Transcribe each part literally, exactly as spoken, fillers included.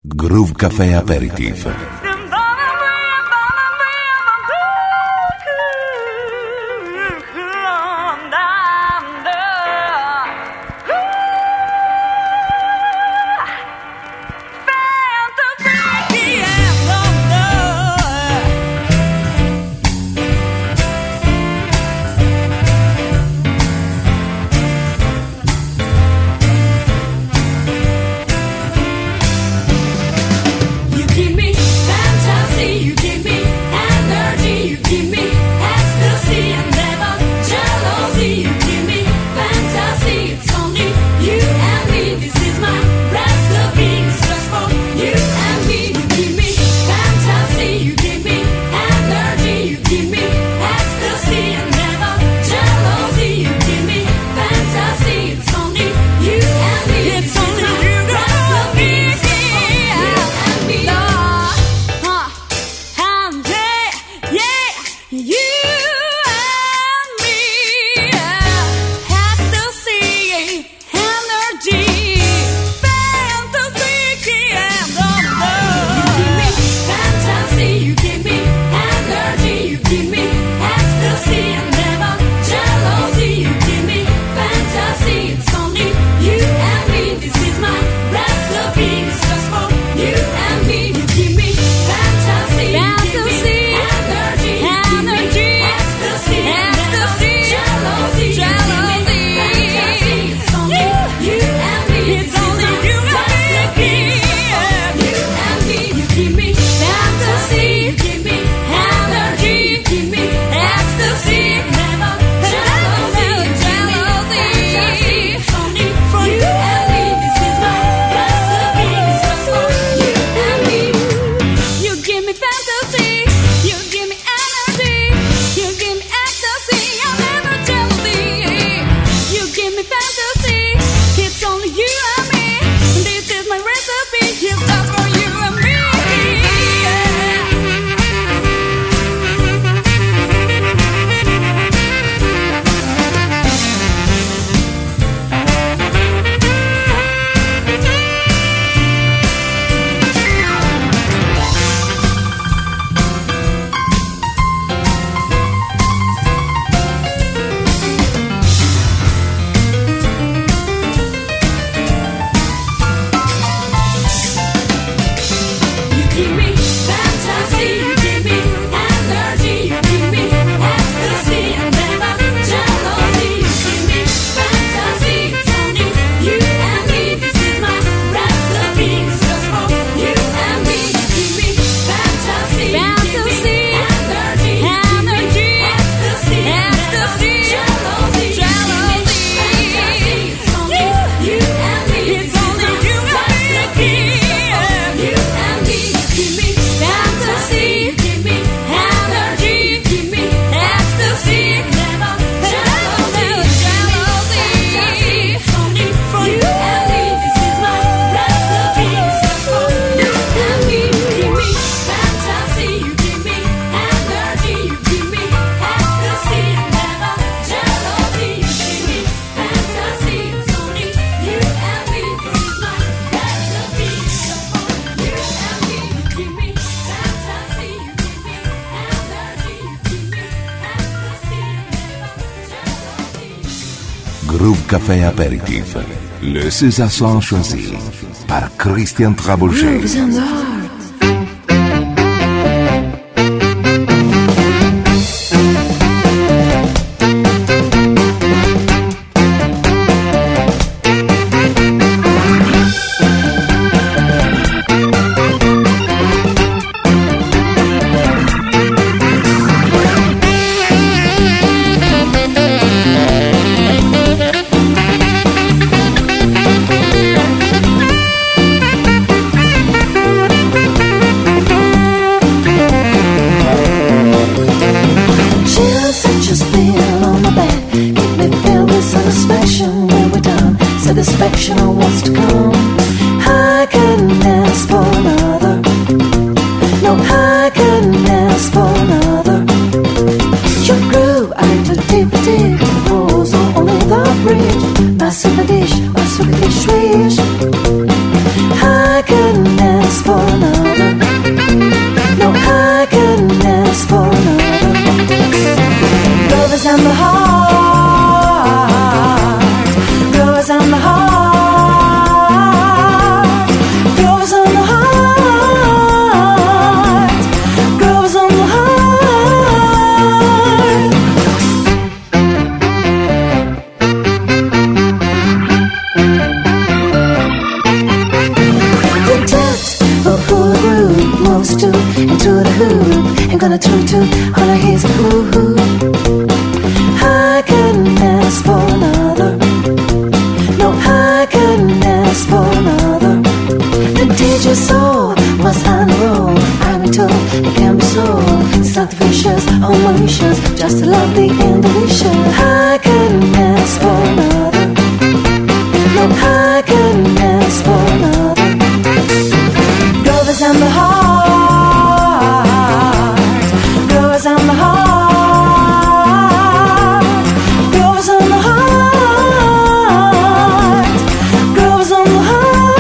Groove Café Aperitif. Groove Café Aperitif. Le César Son choisi par Christian Trabouget. We'll be right back. ask for another. No, I couldn't ask for another. Love is in the heart. Love is in the heart. Love is in the heart. Love is in the heart. The touch of who the groove moves to into the hoop. Ain't gonna toot toot all I hear is a hoo hoo. I couldn't ask for another. No, I couldn't ask for another. The D J soul was on the roll. I've been told it can be sold. It's not the vicious or malicious, just a lovely and delicious. I couldn't ask for another. No, I couldn't ask for another. Love is in the heart. Love is in the heart. Love is in the heart. Love is in the heart.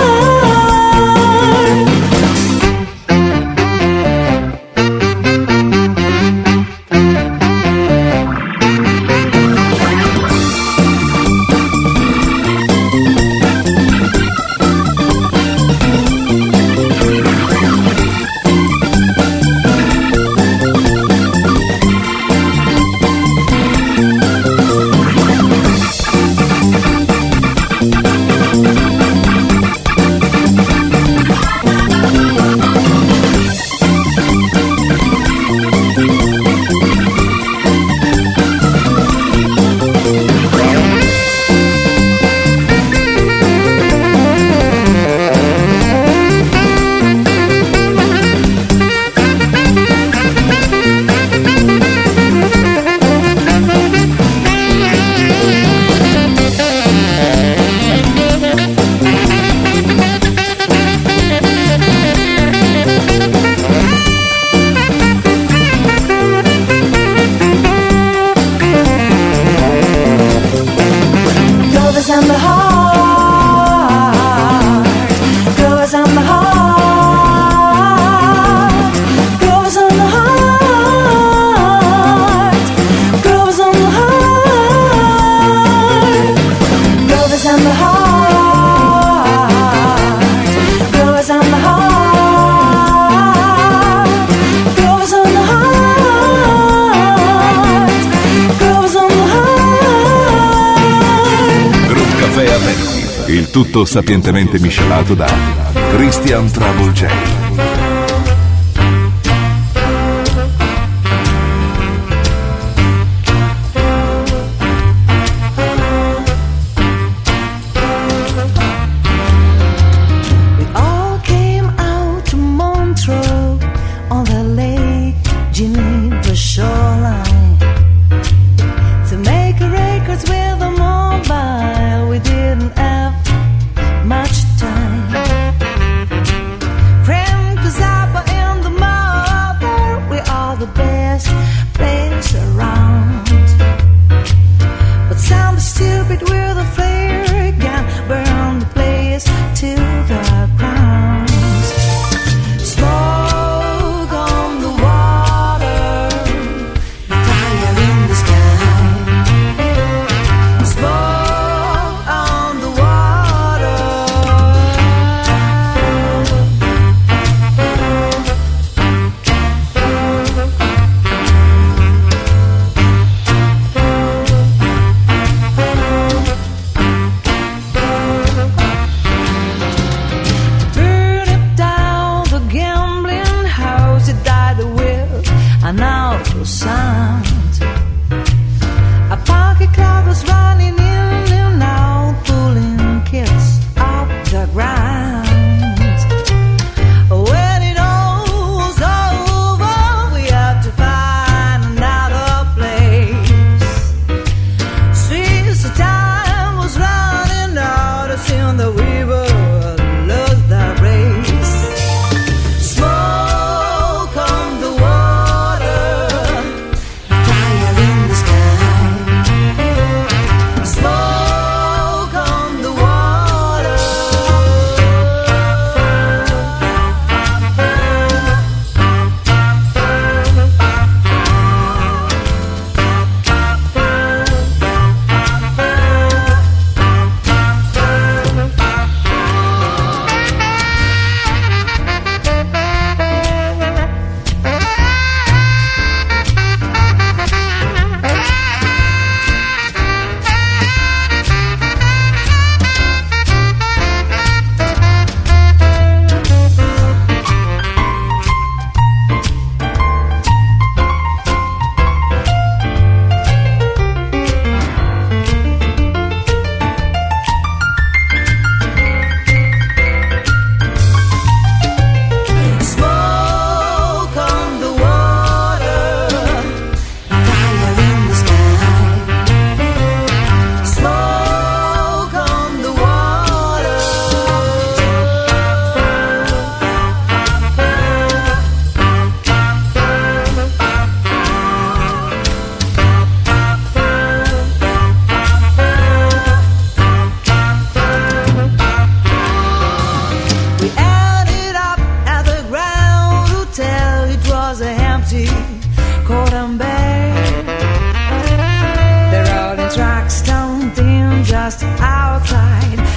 Il tutto sapientemente miscelato da Christian Trouble J.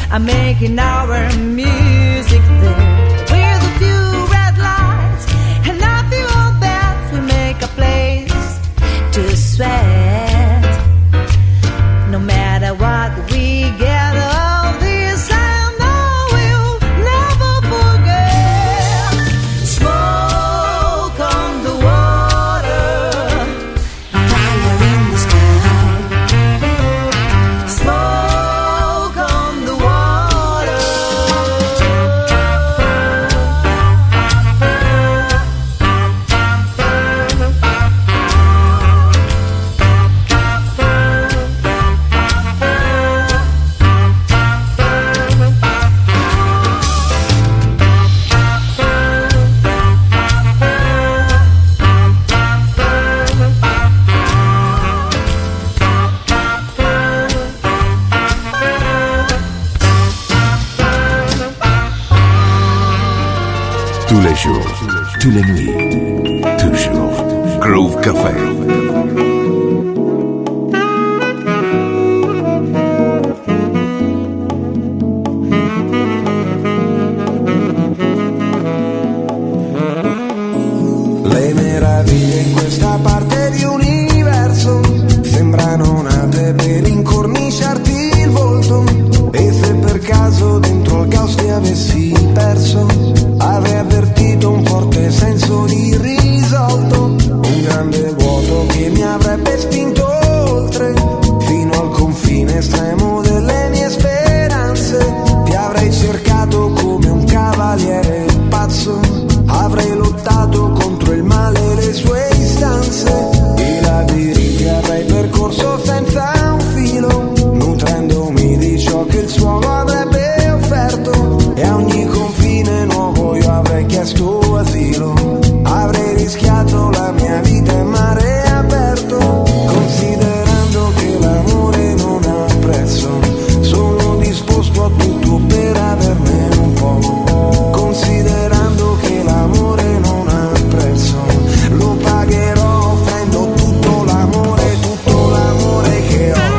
are making our music there. With a few red lights and a few old bells, we make a place to sweat. No matter what we get of this, I know we'll never forget. Smoke on the water, fire in the sky. Smoke on the water. Tous les jours, toutes les nuits, toujours. Groove Café. Le meraviglie in questa parte di universo sembrano nate per incorniciarti il volto. E se per caso dentro il caos ti avessi perso, avrei avvertito un forte senso di risolto, un grande vuoto che mi avrebbe spinto oltre, fino al confine estremo delle mie speranze. Ti avrei cercato come un cavaliere pazzo, avrei lottato contro il male e le sue istanze. I labirinti avrei percorso senza un filo, nutrendomi di ciò che il suolo avrebbe offerto. E a ogni confine nuovo io avrei chiesto asilo, avrei rischiato la mia vita in mare aperto. Considerando che l'amore non ha prezzo, sono disposto a tutto per averne un po'. Considerando che l'amore non ha prezzo, lo pagherò offrendo tutto l'amore, tutto l'amore che ho.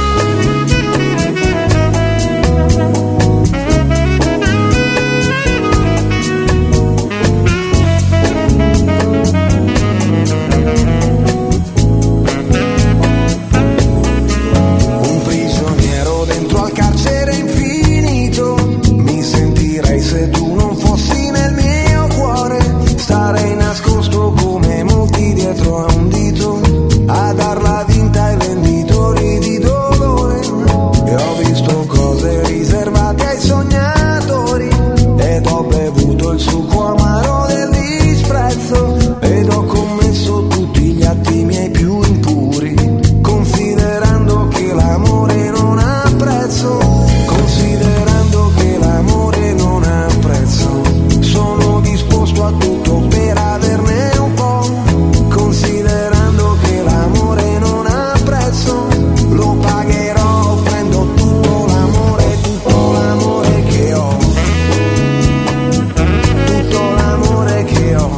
Un prigioniero dentro al carcere infinito, mi sentirei se tu non fossi nel mio cuore. Starei nascosto come molti dietro a un dito, a darla vinta ai venditori di dolore. E ho visto cose riservate ai sognatori, ed ho bevuto il succo amaro del disprezzo, ed ho commesso tutti gli atti miei più impuri. Considerando che l'amore non ha prezzo, considerando che l'amore non ha prezzo, sono disposto a tutto per averne un po'. Considerando che l'amore non ha prezzo, lo pagherò offrendo tutto l'amore, tutto l'amore che ho. Tutto l'amore che ho.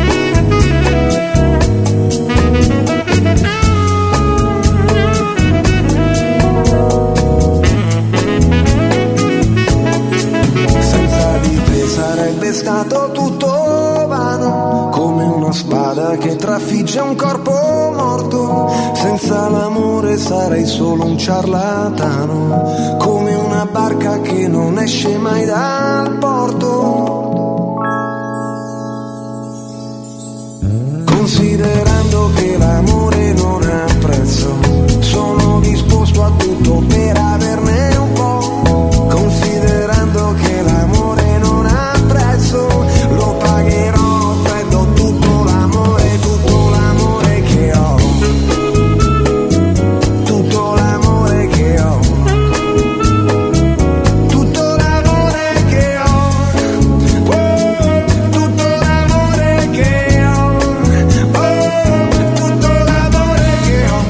Senza di te sarebbe stato tutto vano, come una spada che trafigge un corpo morto. Senza l'amore sarei solo un ciarlatano, come una barca che non esce mai dal porto. Considerando che l'amore non ha prezzo, sono disposto a tutto per averne un po'. Considerando che l'amore non ha prezzo, lo pagherò offrendo tutto l'amore, tutto l'amore che ho. Tutto l'amore che ho. Tutto l'amore che ho. Oh, tutto l'amore che ho. Oh, tutto l'amore che ho.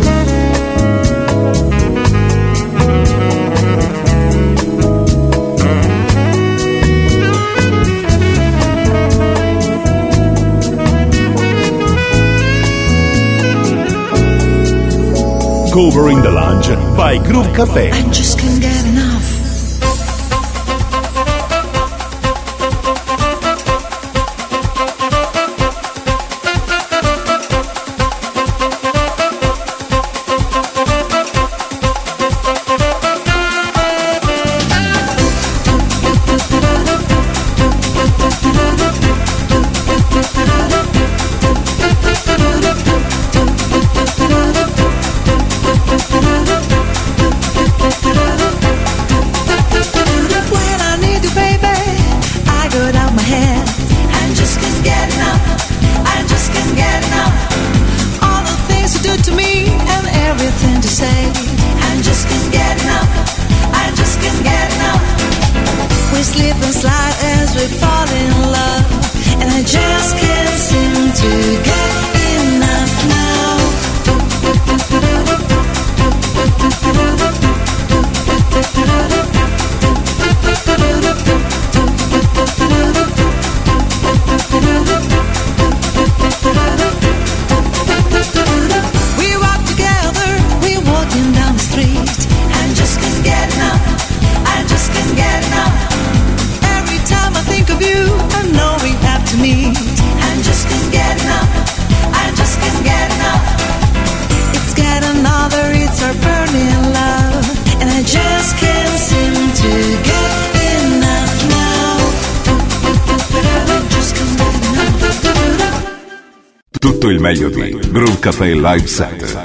Covering the Lounge by Groove Café. I just can't get enough. We walk together, we're walking down the street, and just can't get enough, I just can't get enough. Every time I think of you, I know we have to meet, and just can't get enough, I just can't get enough. It's got another, it's our burning love, and I just can't seem to get enough now. Just can't get enough. Tutto il meglio di Groove Café Live Set.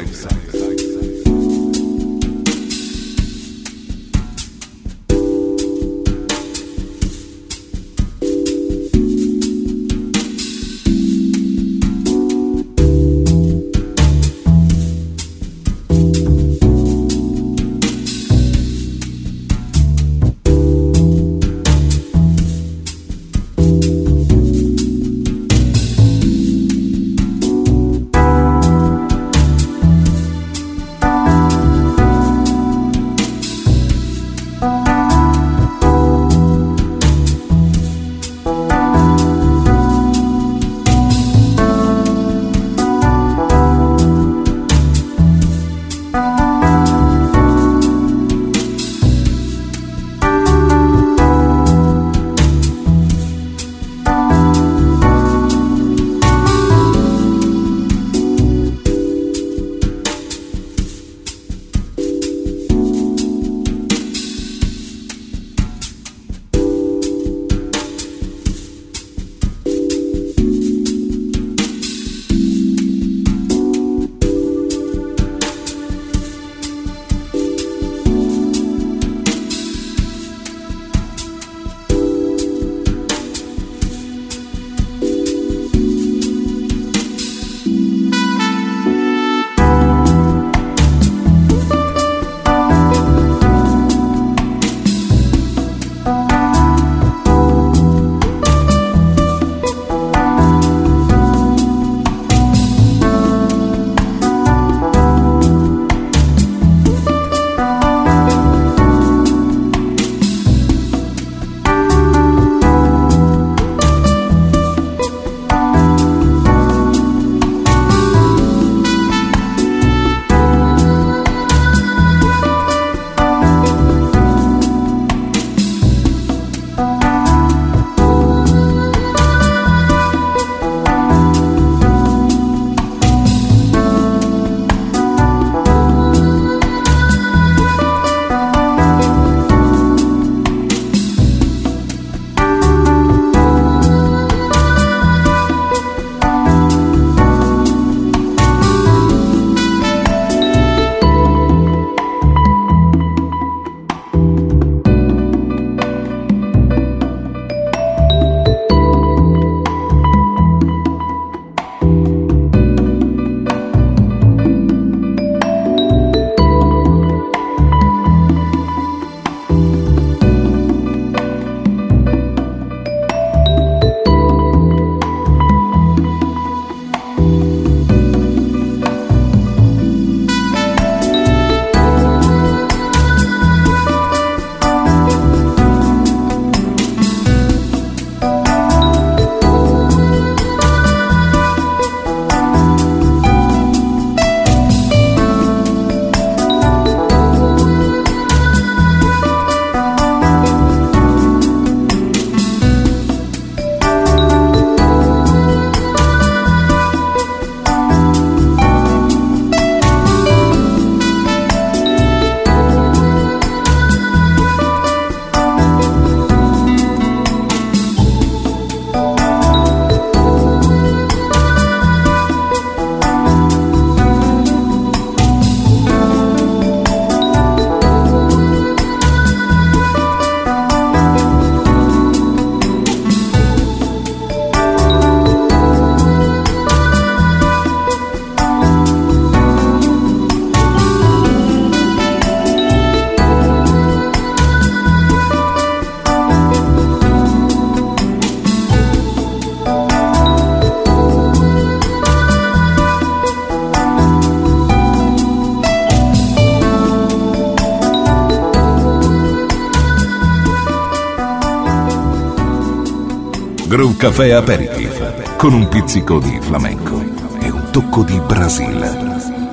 Groove Café Aperitif, con un pizzico di flamenco e un tocco di Brasile.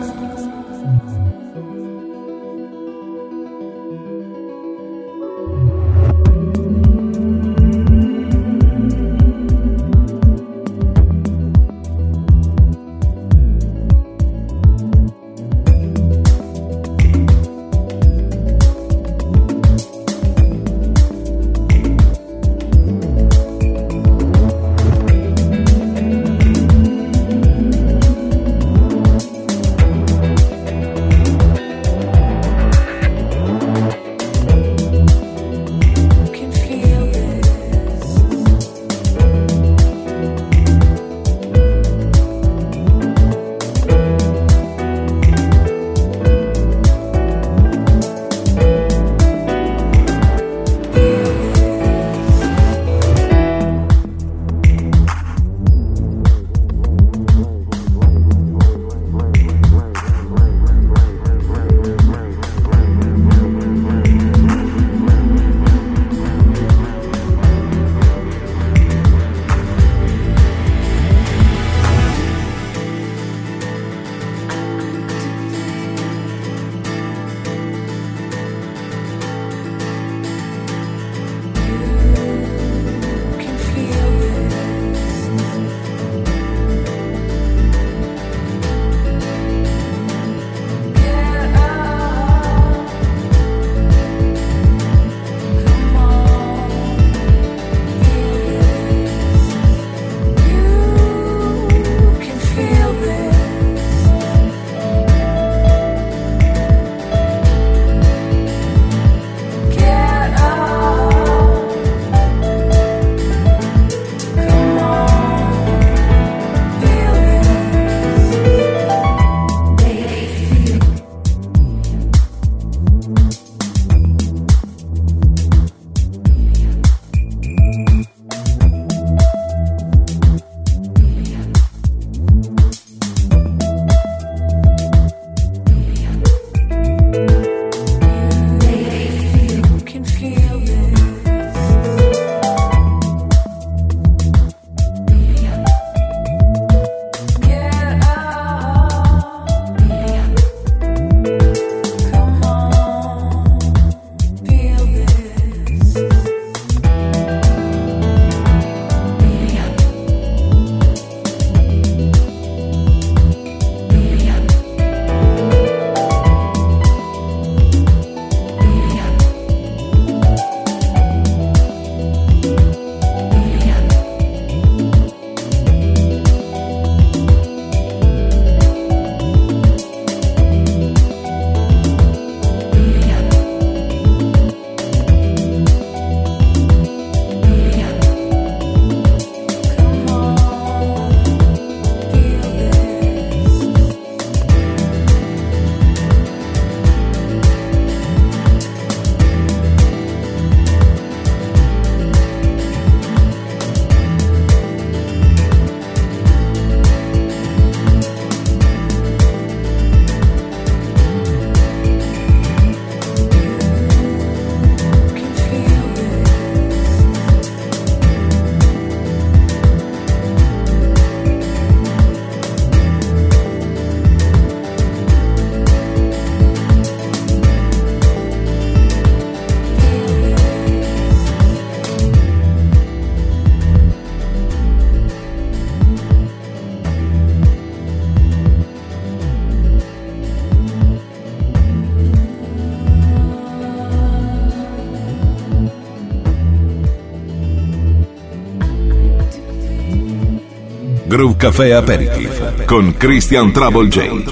Groove Café Aperitif con Christian Trouble J.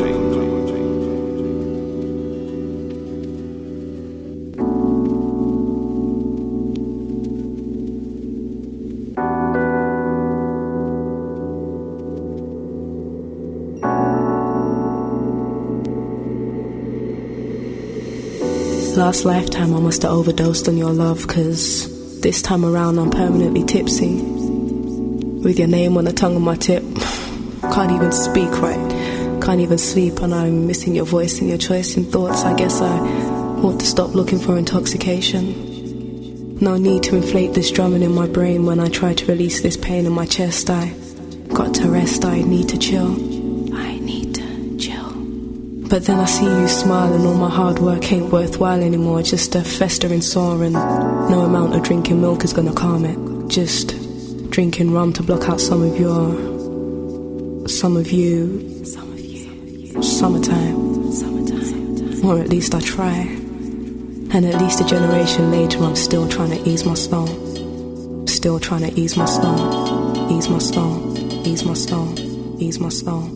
Last lifetime I must have overdosed on your love, 'cause this time around I'm permanently tipsy, with your name on the tongue of my tip. Can't even speak right, can't even sleep, and I'm missing your voice and your choice in thoughts. I guess I want to stop looking for intoxication. No need to inflate this drumming in my brain when I try to release this pain in my chest. I got to rest, I need to chill. I need to chill. But then I see you smile and all my hard work ain't worthwhile anymore. Just a festering sore and no amount of drinking milk is gonna calm it. Just drinking rum to block out some of your, some of you, some of you, summertime, summertime. Or at least I try. And at least a generation later I'm still trying to ease my stone. Still trying to ease my stone. Ease my stone. Ease my stone. Ease my stone.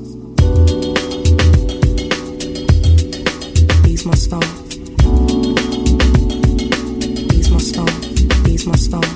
Ease my stone. Ease my stone. Ease my stone.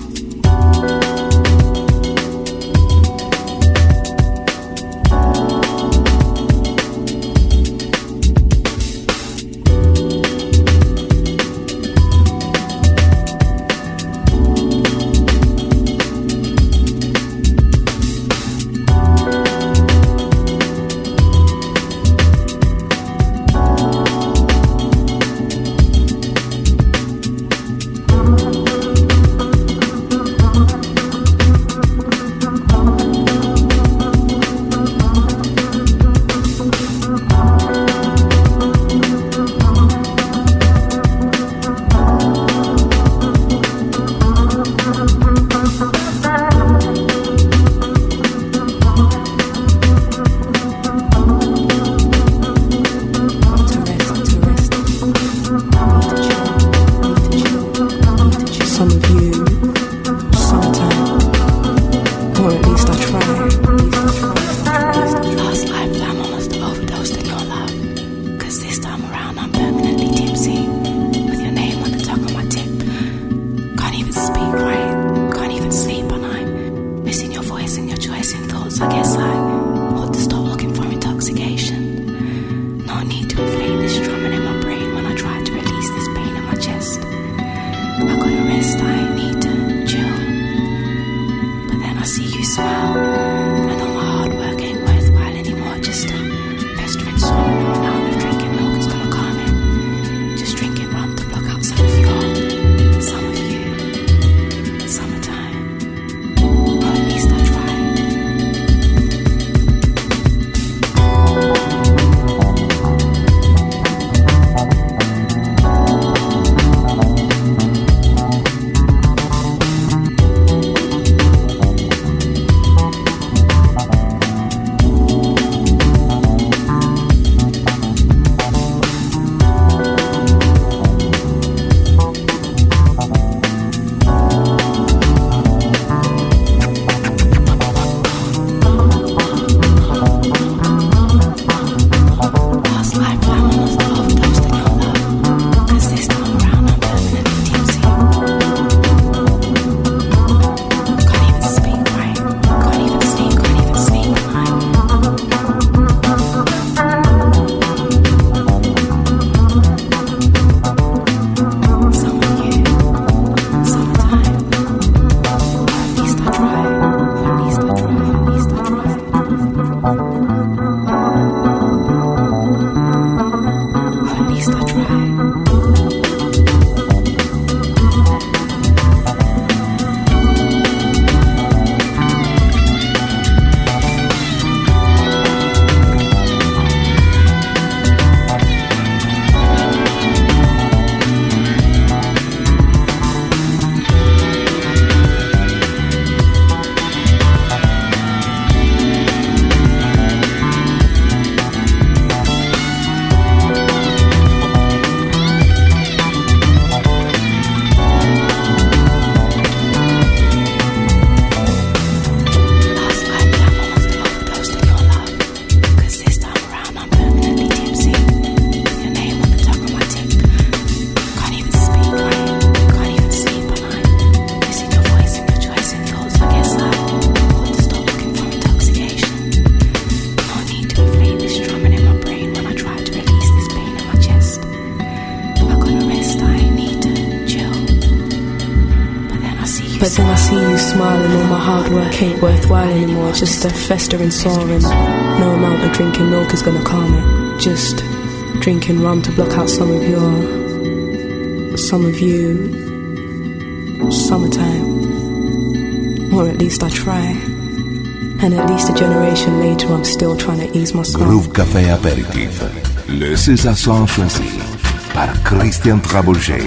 But then I see you smile and all my hard work ain't worthwhile anymore. Just a festering sore and no amount of drinking milk is gonna calm it. Just drinking rum to block out some of your, some of you, summertime. Or at least I try. And at least a generation later I'm still trying to ease my soul. Groove Café Apéritif. Le César son choisi par Christian Trabouget.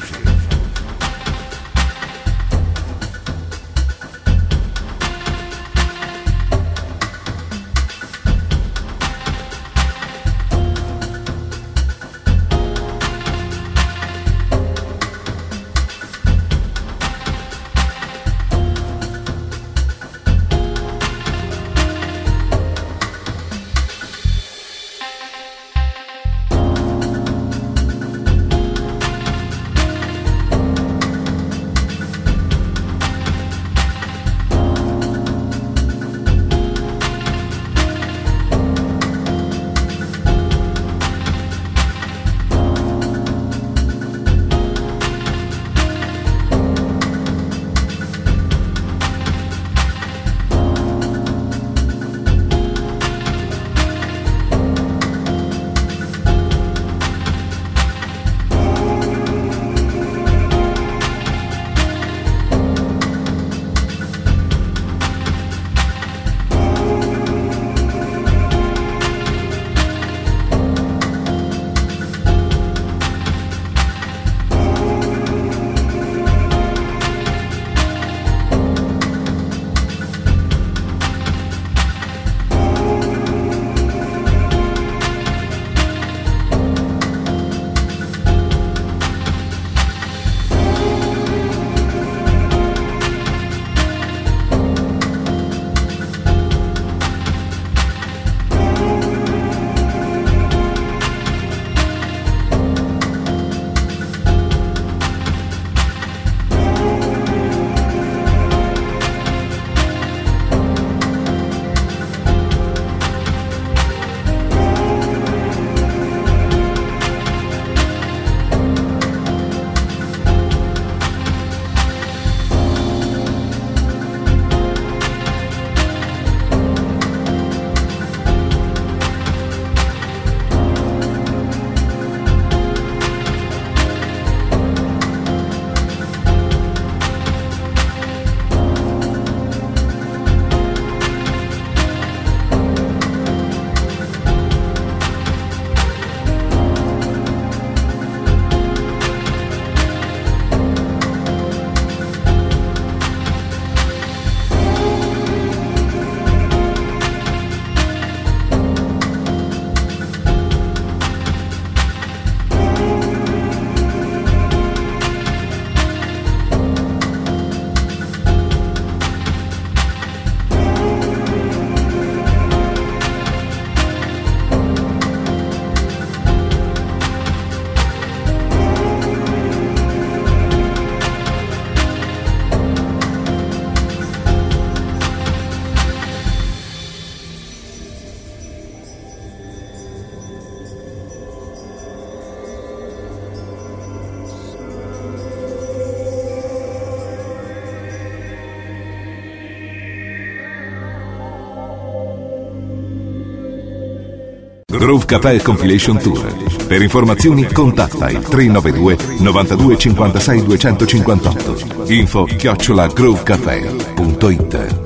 Groove Café Compilation Tour. Per informazioni contatta il tre nove due novantadue cinquantasei duecentocinquantotto. Info chiocciola groovecafé punto it.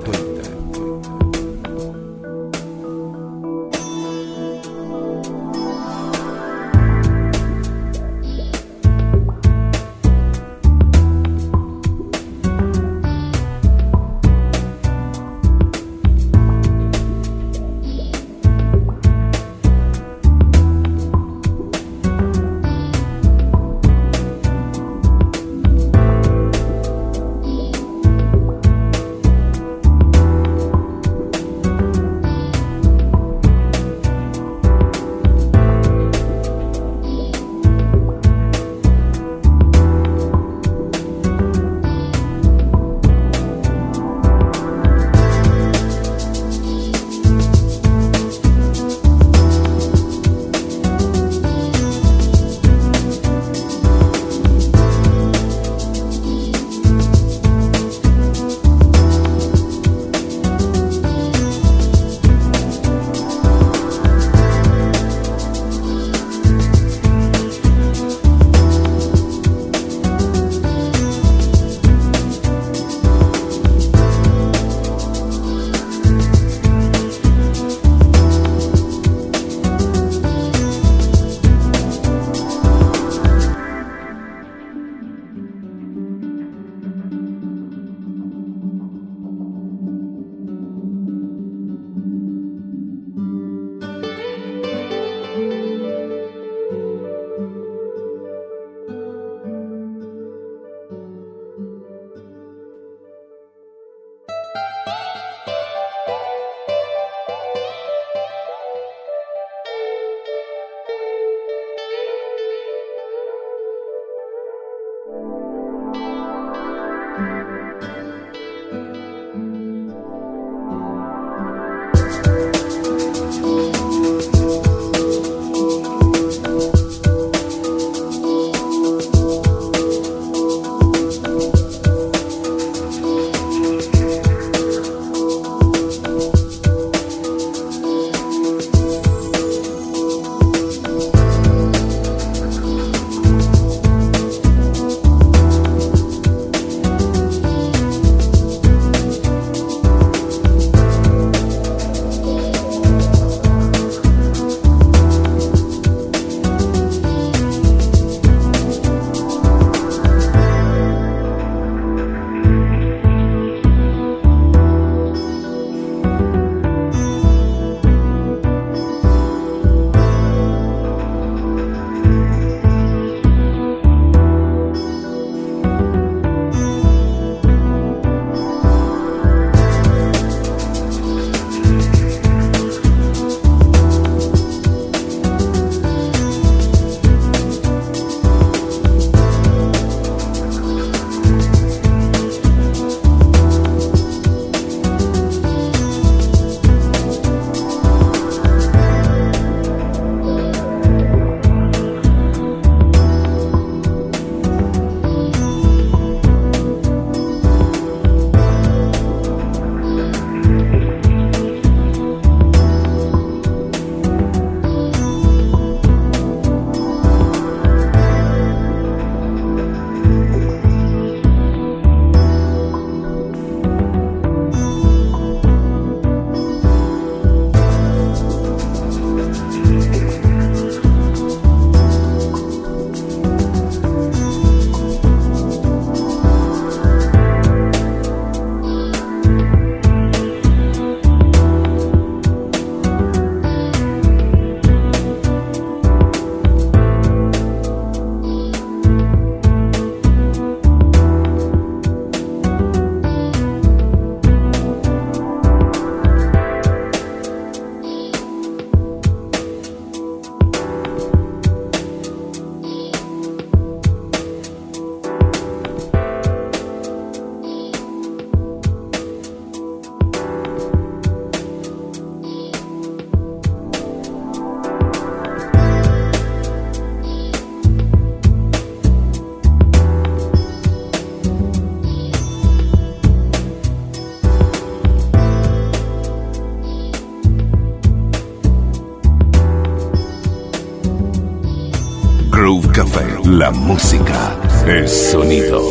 La música, el sonido.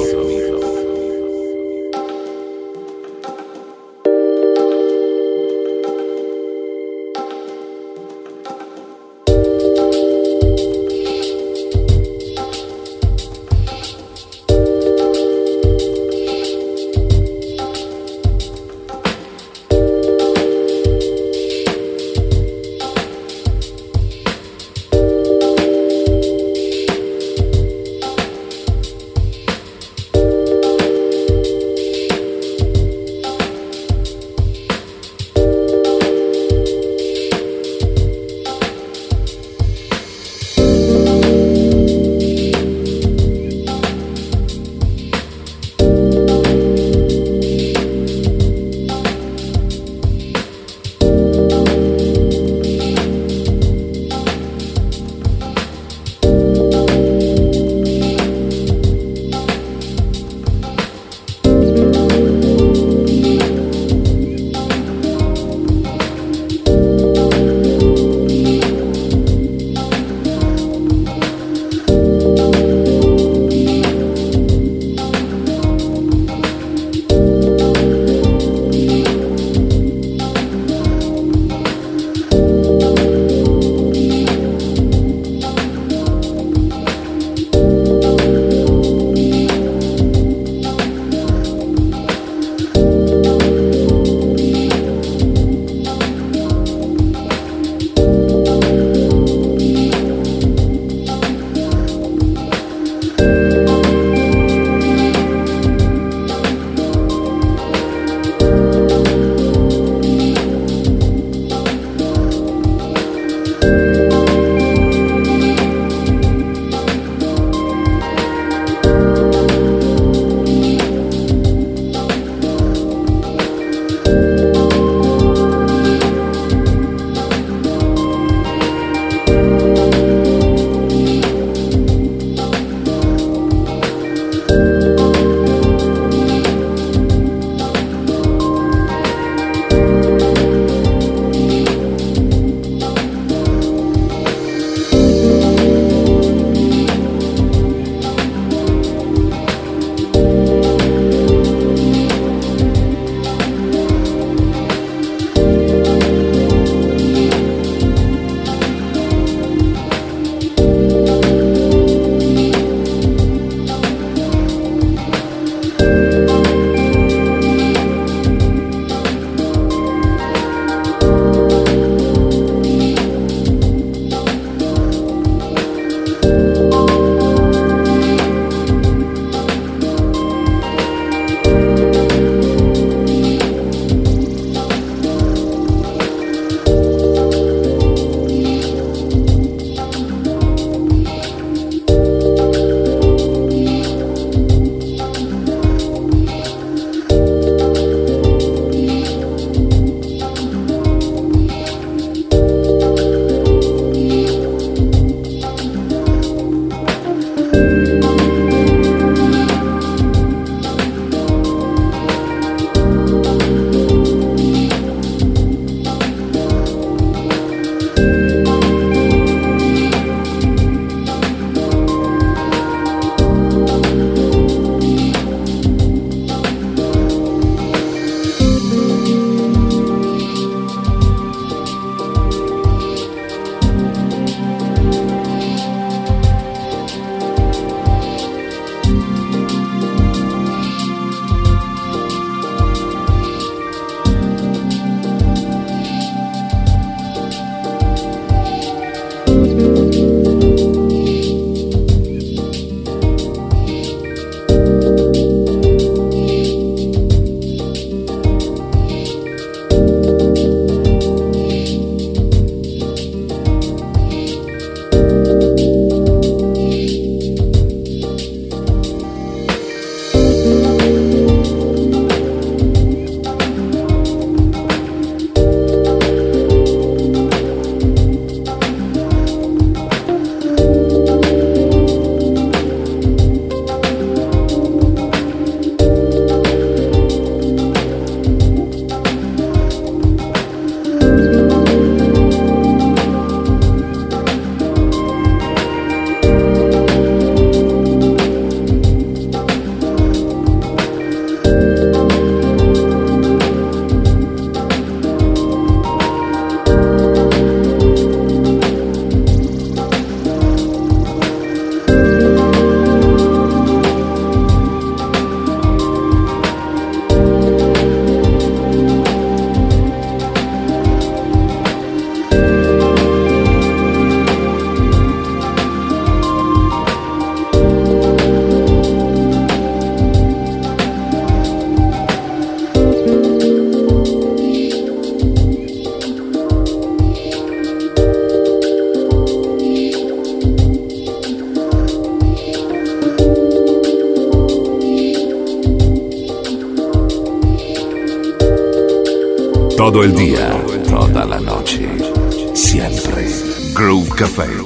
todo el día, toda la noche, siempre. Groove Café.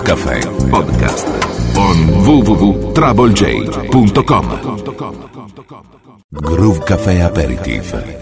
Café Podcast on w w w punto trouble j punto com. Groove Café Aperitif.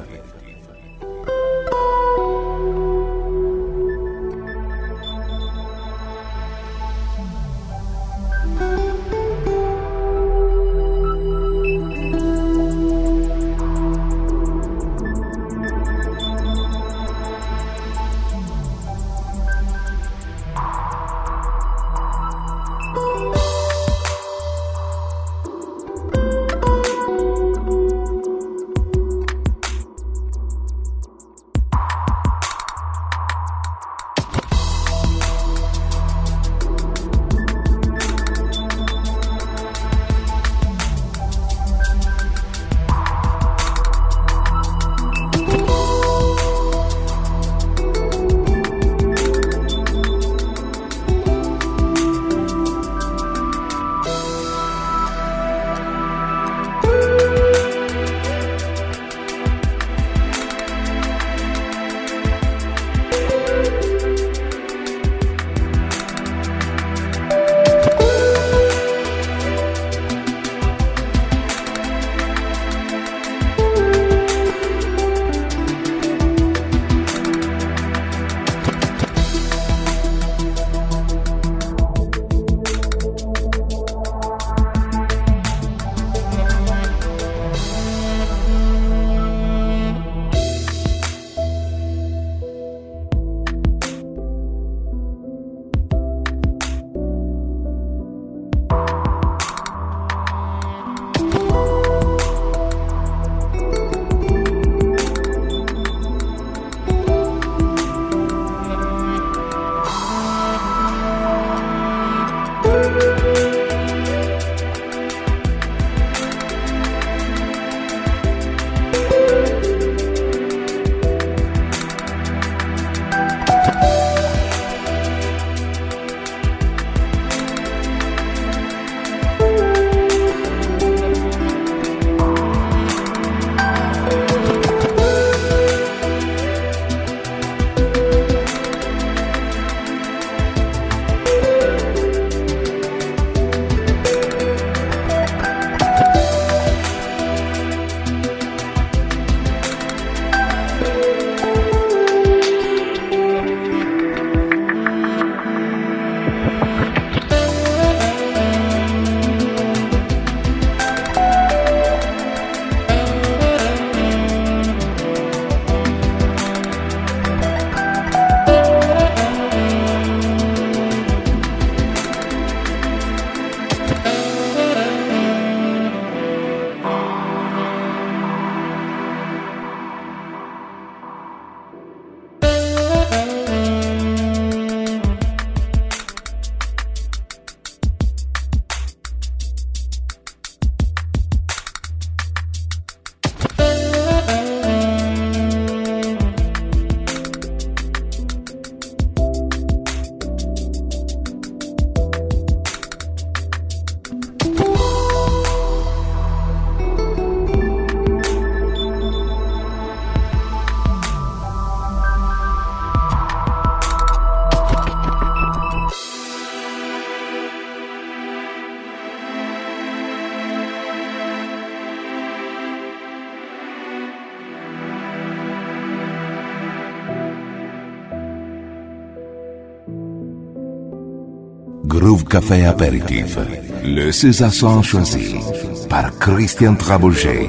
Groove Café Aperitif. Le César son choisi par Christian Trabolger.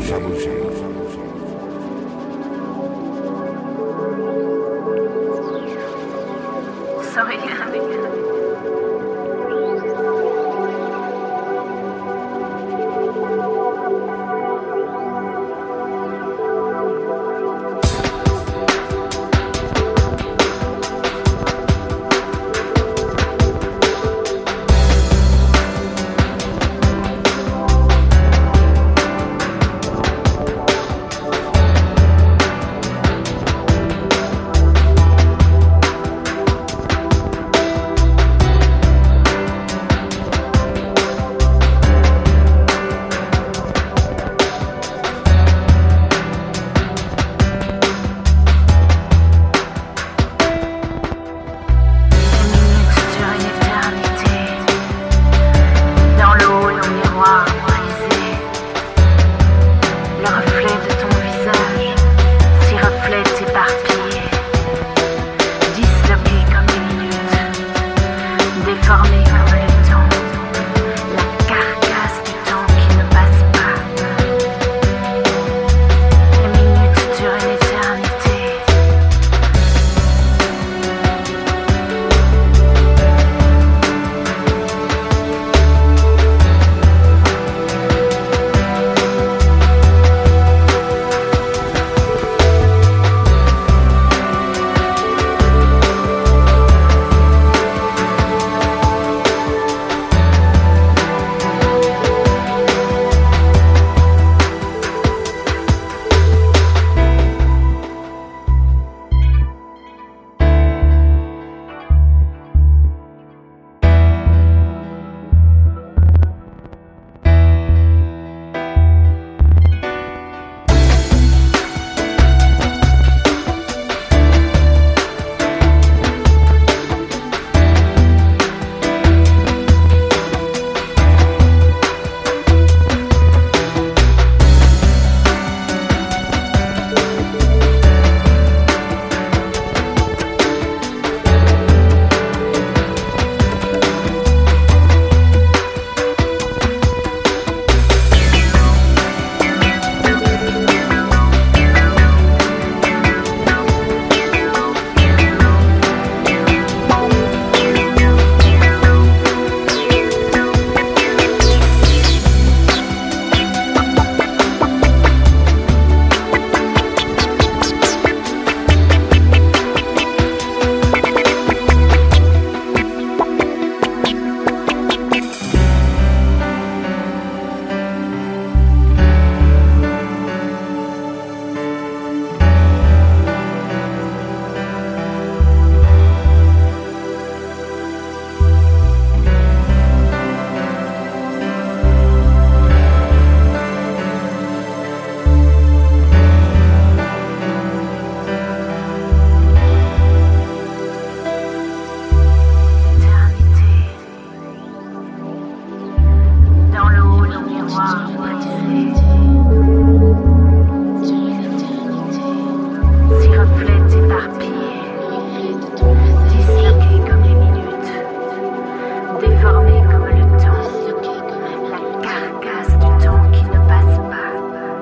reflets éparpillés, disloqués comme les minutes, déformés comme le temps, la carcasse du temps qui ne passe pas.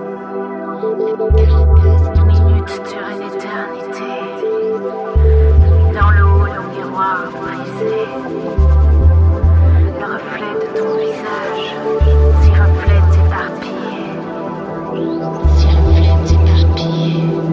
Minutes durent une éternité, dans le haut d'un miroir brisé, le reflet de ton visage, s'y reflète éparpillé, s'y reflète éparpillé.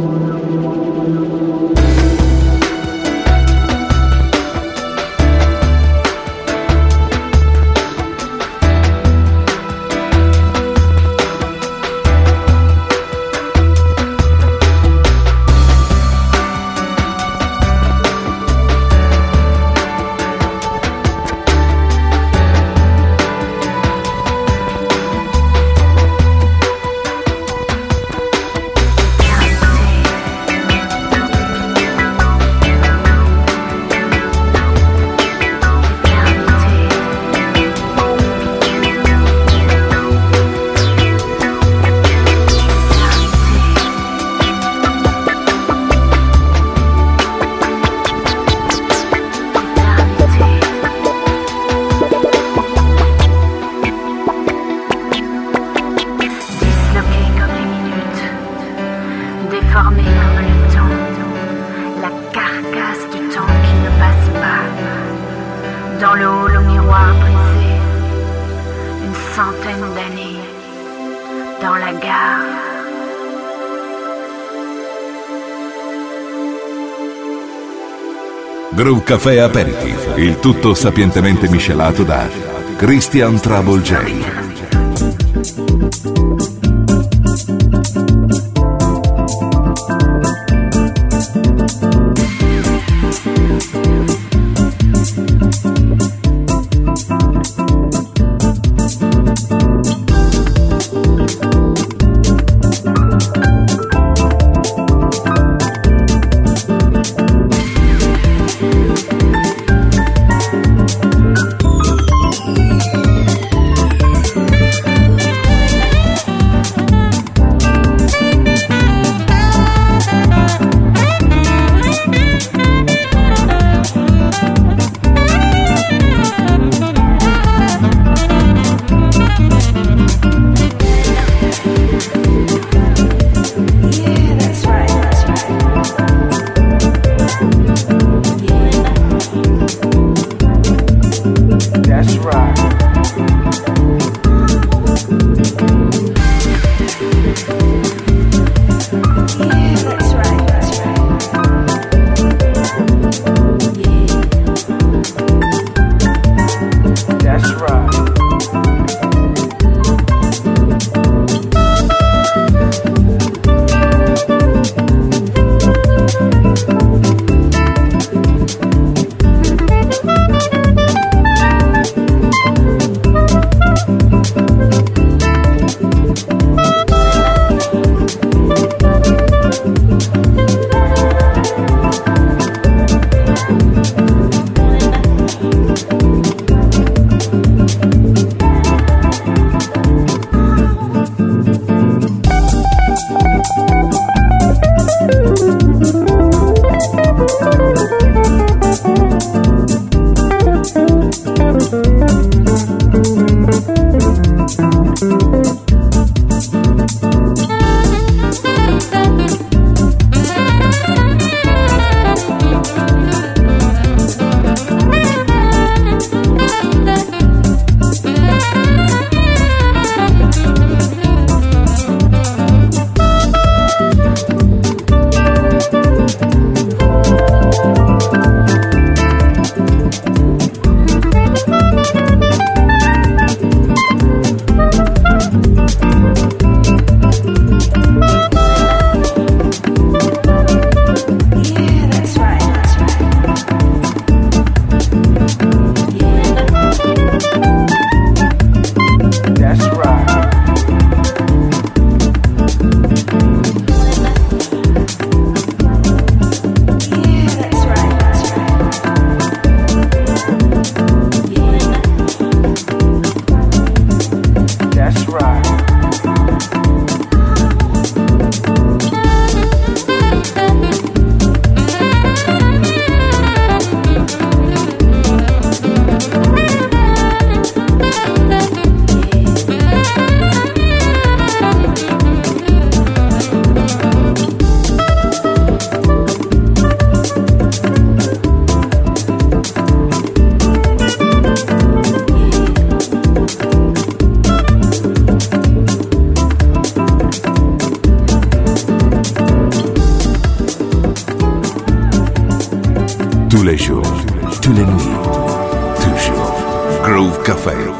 Groove Café Aperitif, il tutto sapientemente miscelato da Christian Trouble J. Thank les jours, tous les nuits, toujours. Groove Café.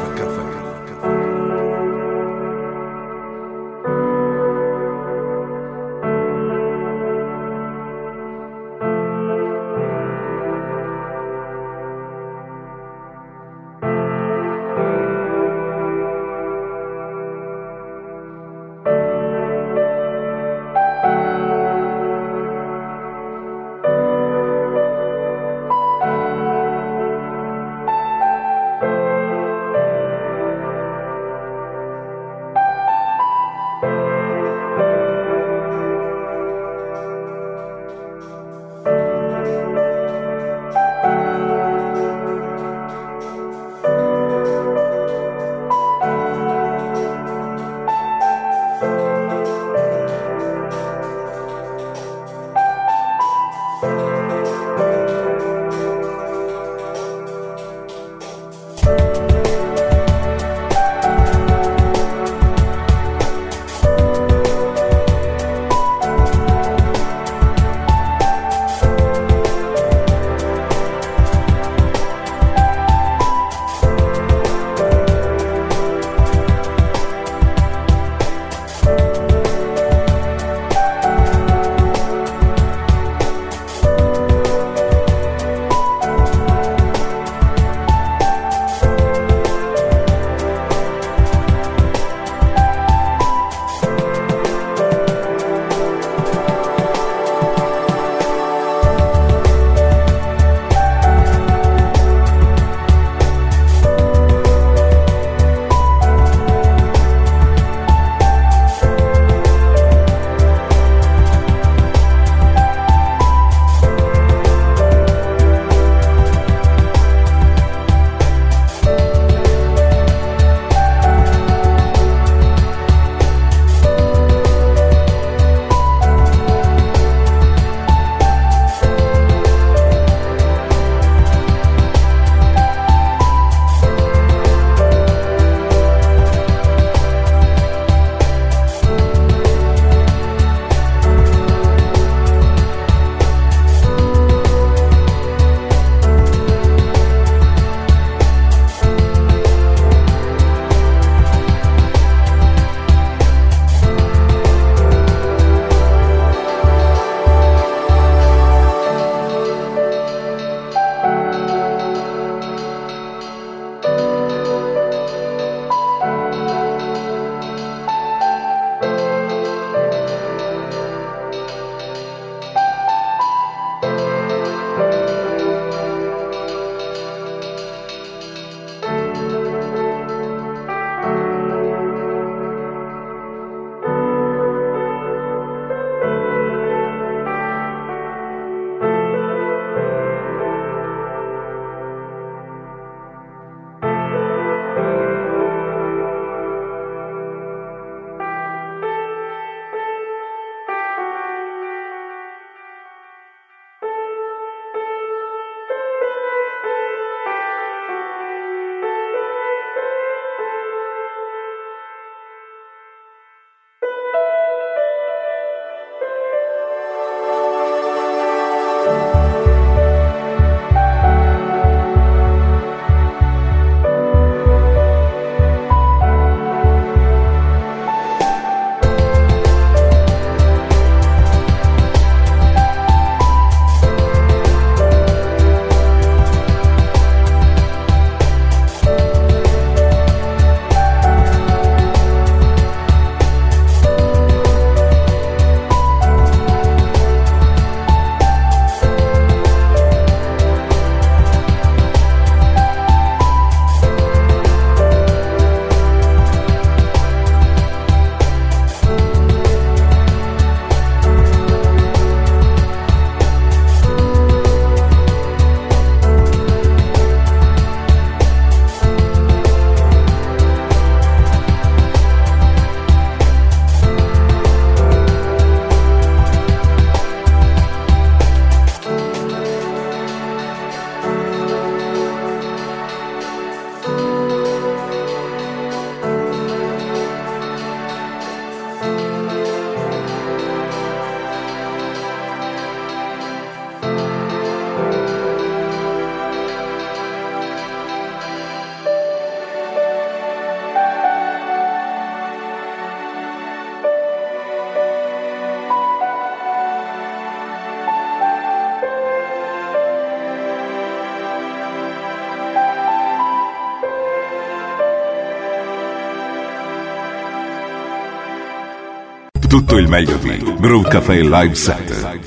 Tutto il meglio di Groove Café Live Set.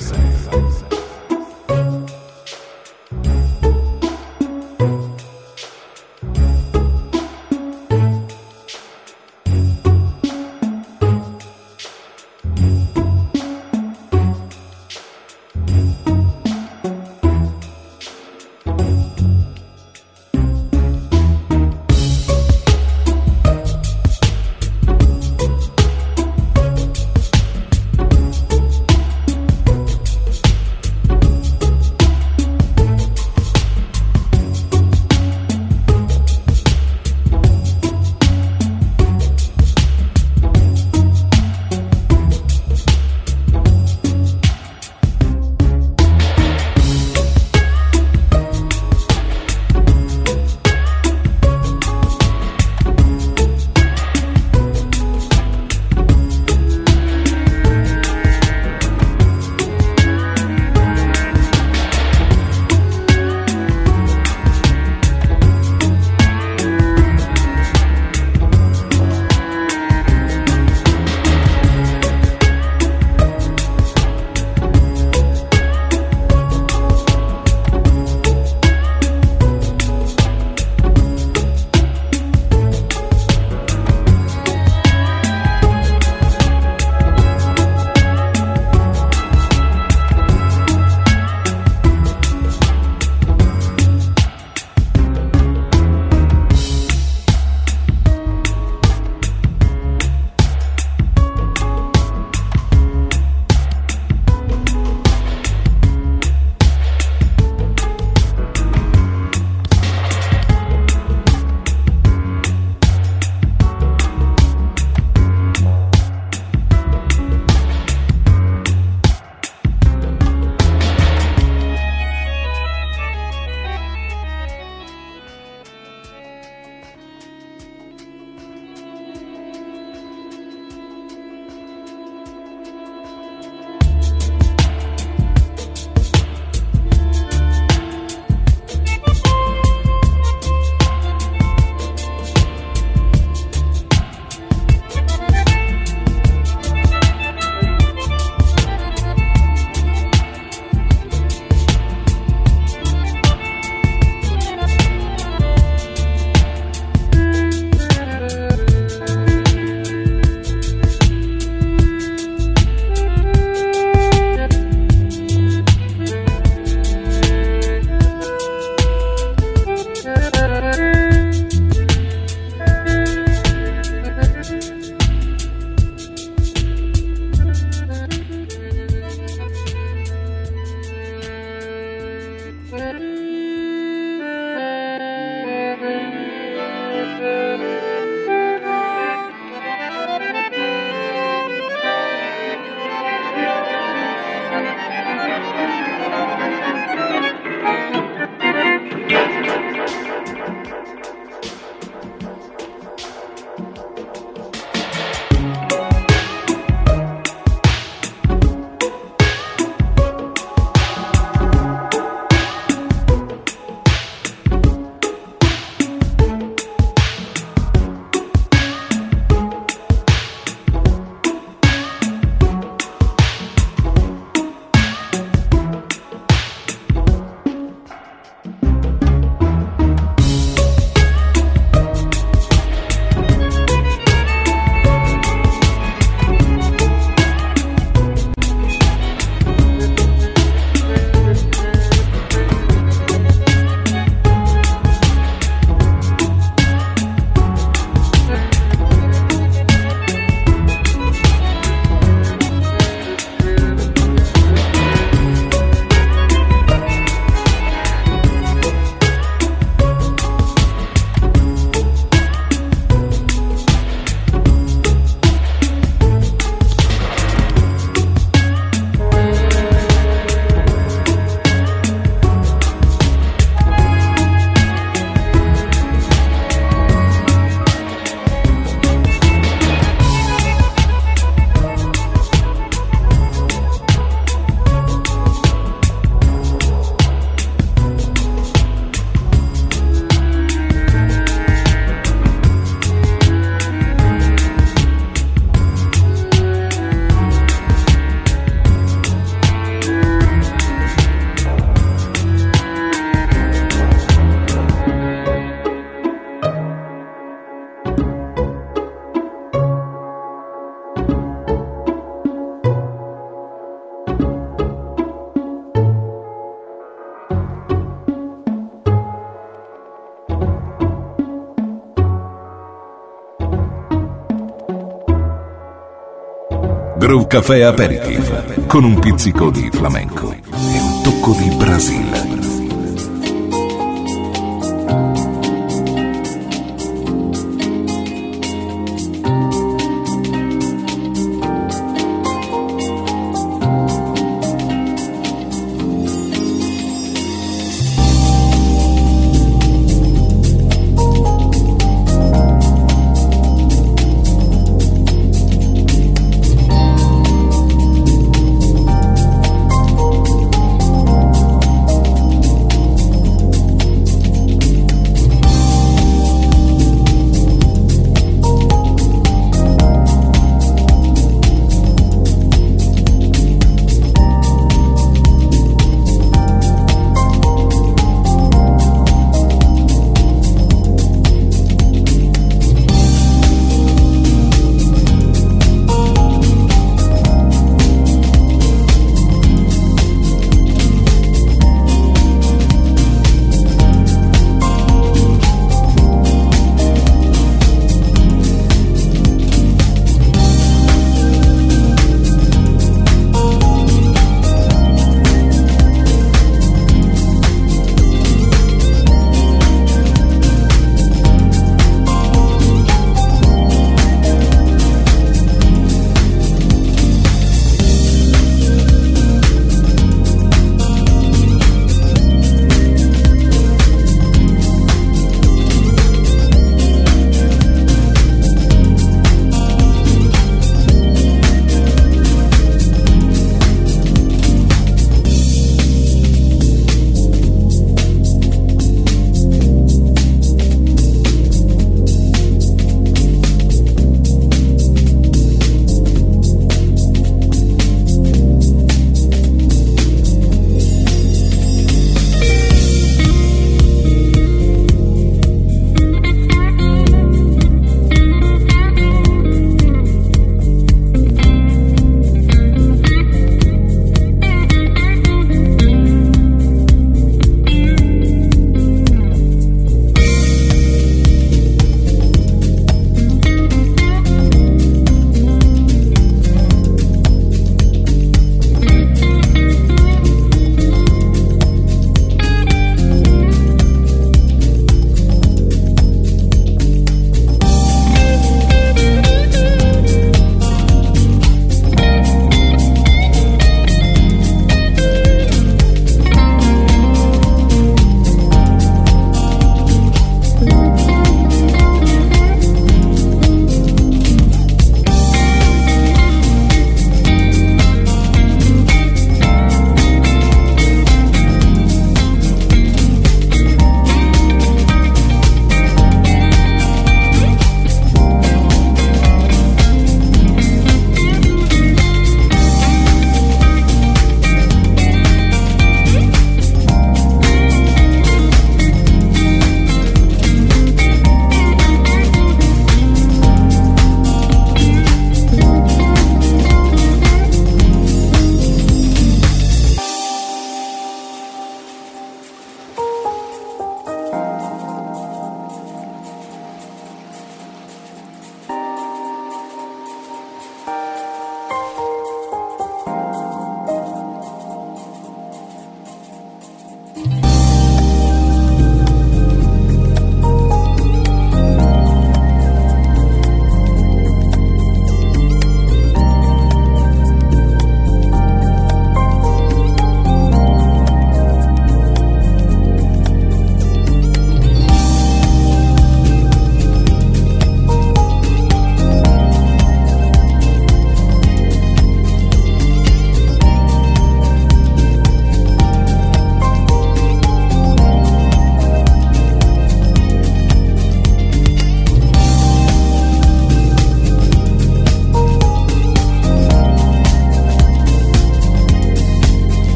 Groove Café Aperitif, con un pizzico di flamenco e un tocco di Brasile.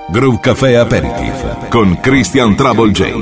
Groove Café Aperitif con Christian Trouble J.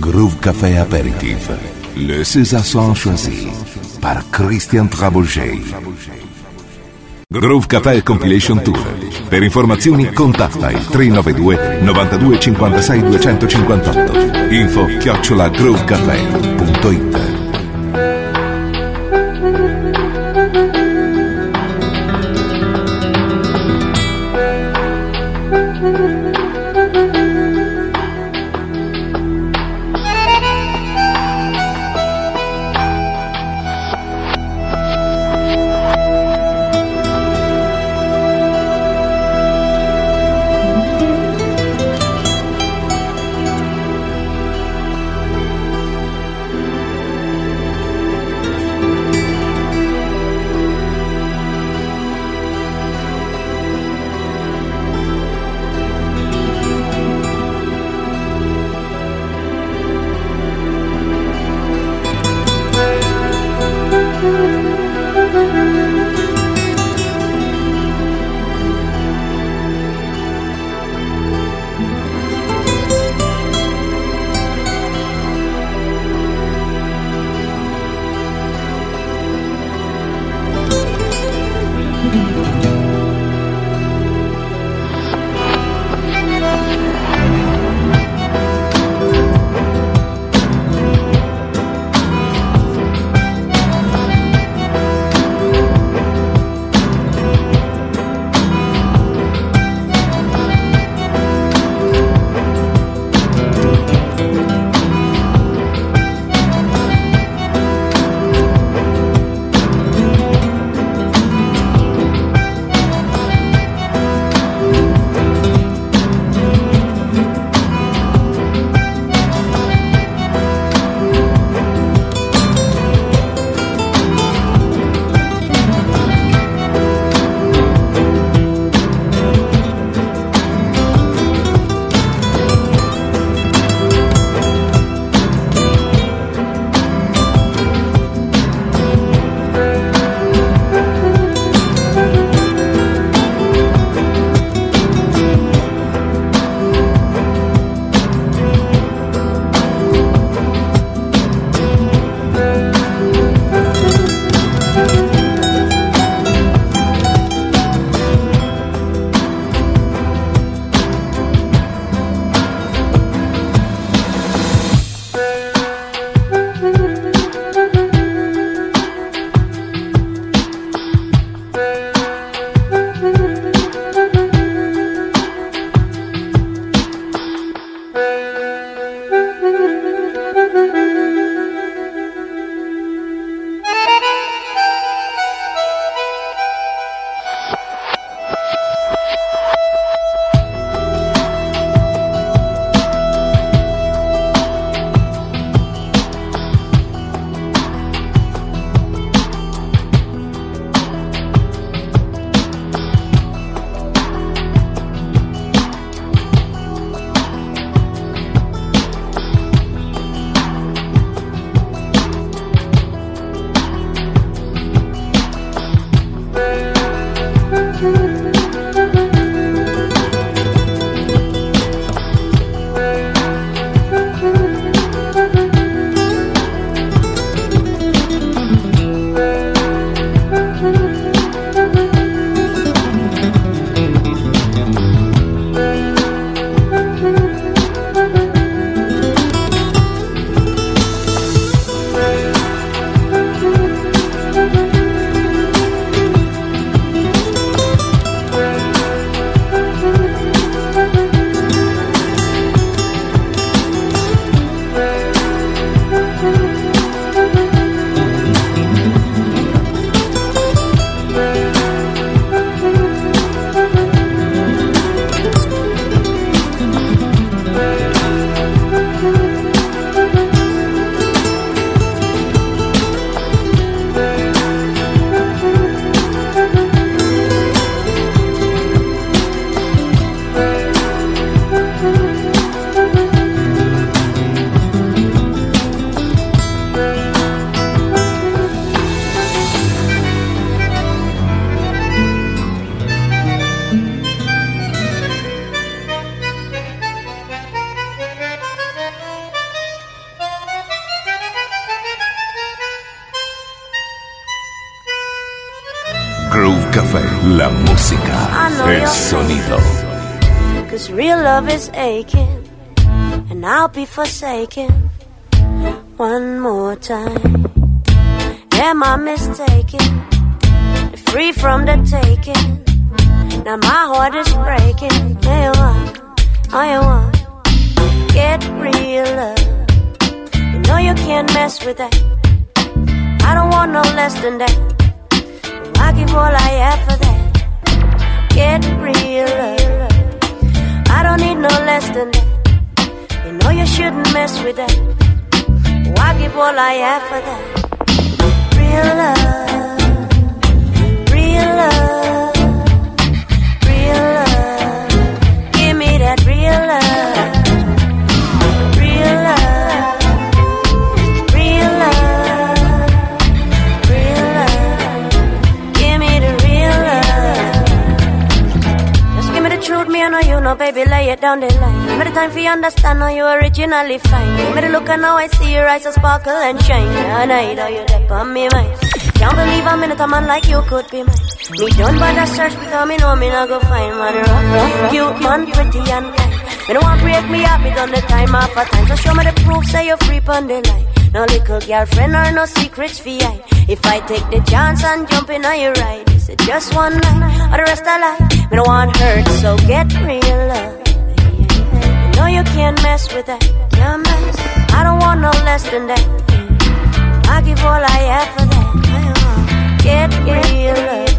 Groove Café Apéritif. Le César Son choisi par Christian Trabouget. Groove Café Compilation Tour. Per informazioni contatta il tre nove due novantadue cinquantasei duecentocinquantotto. Info chiocciola groovecafé punto it. Café, la música, el sonido. Cause real love is aching, and I'll be forsaken one more time. Am I mistaken? Free from the taking. Now my heart is breaking. Yeah, you want, oh you want. Get real love. You know you can't mess with that. I don't want no less than that. I give all I have for that. Get real love. I don't need no less than that. You know you shouldn't mess with that. I give all I have for that. Real love, real love, real love. Give me that real love, real love, real love, real love. Give me the real love. Just give me the truth, me I know you know, baby, lay it down the line. Give me the time for you understand how you originally fine. Give me the look and now I see your eyes so sparkle and shine. And I know you dip on me mind. Can't believe a minute a man like you could be mine. Me done by the search because me know me not go find man rough. Cute man, pretty and kind. Me don't want break me up, me done the time after time. So show me the proof, say you're free on the line. No little girlfriend or no secrets for you. If I take the chance and jump in on your ride, is it just one night or the rest of life? Me don't want hurt, so get real love. You know you can't mess with that. Can't mess. I don't want no less than that. I give all I have for that. Get real love.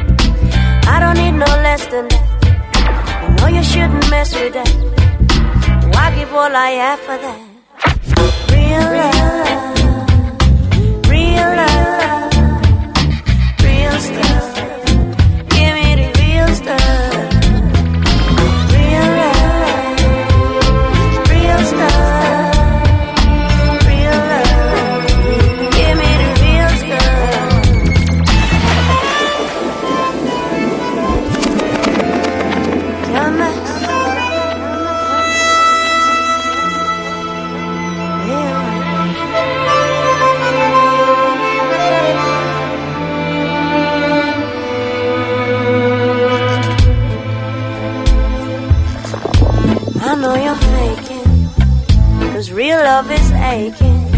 I don't need no less than that. You know you shouldn't mess with that. I give all I have for that. Real love, real love, real stuff. Give me the real stuff. Real love, real stuff. Real love. Give me the real stuff. Come on. I know you're faking, cause real love is aching.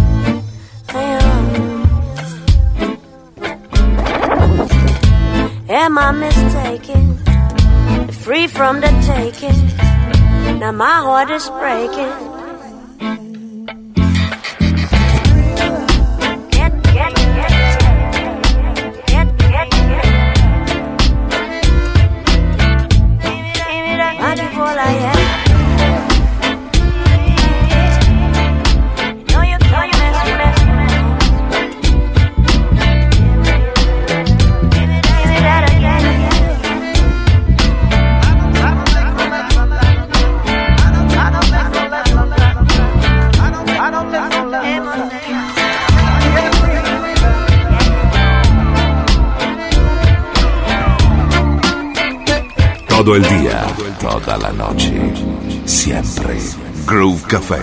Am I mistaken? Free from the taking. Now my heart is breaking. Todo el día, toda la noche, siempre. Groove Café.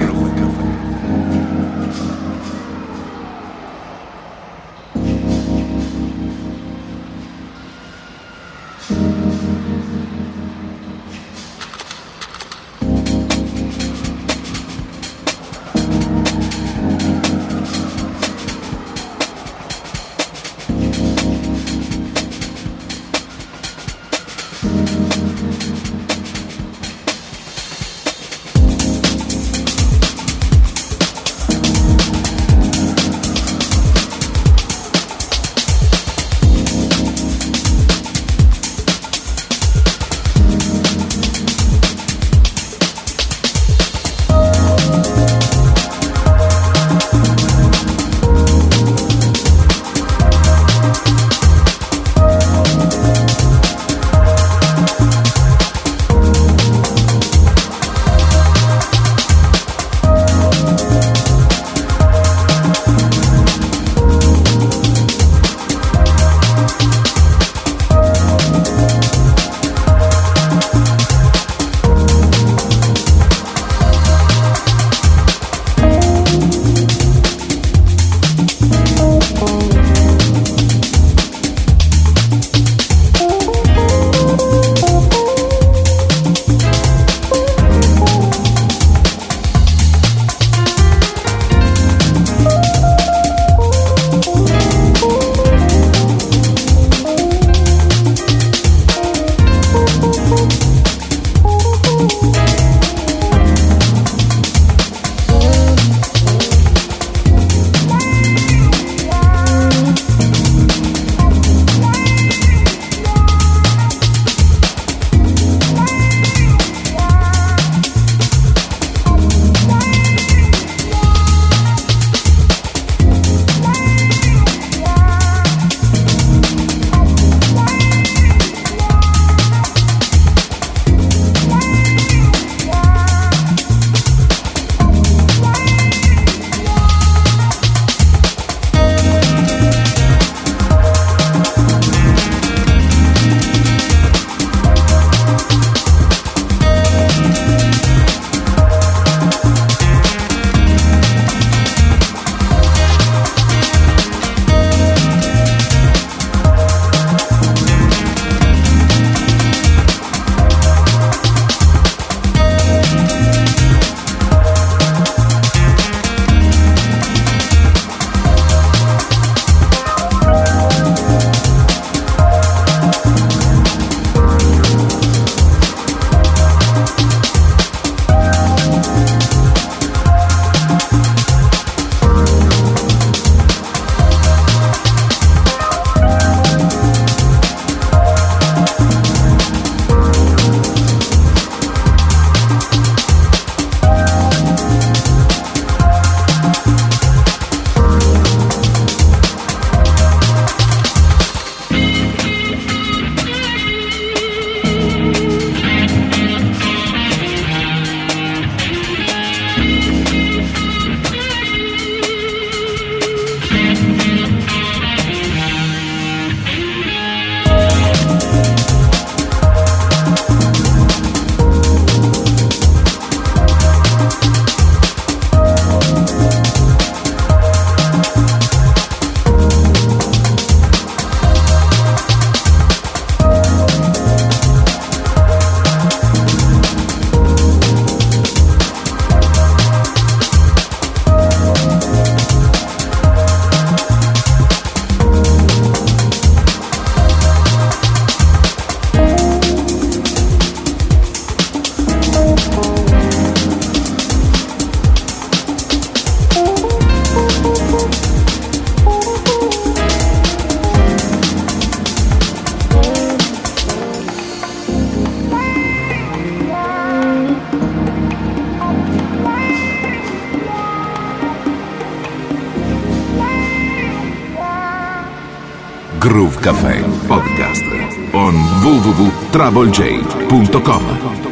Groove Café Podcast on w w w punto trouble j punto com.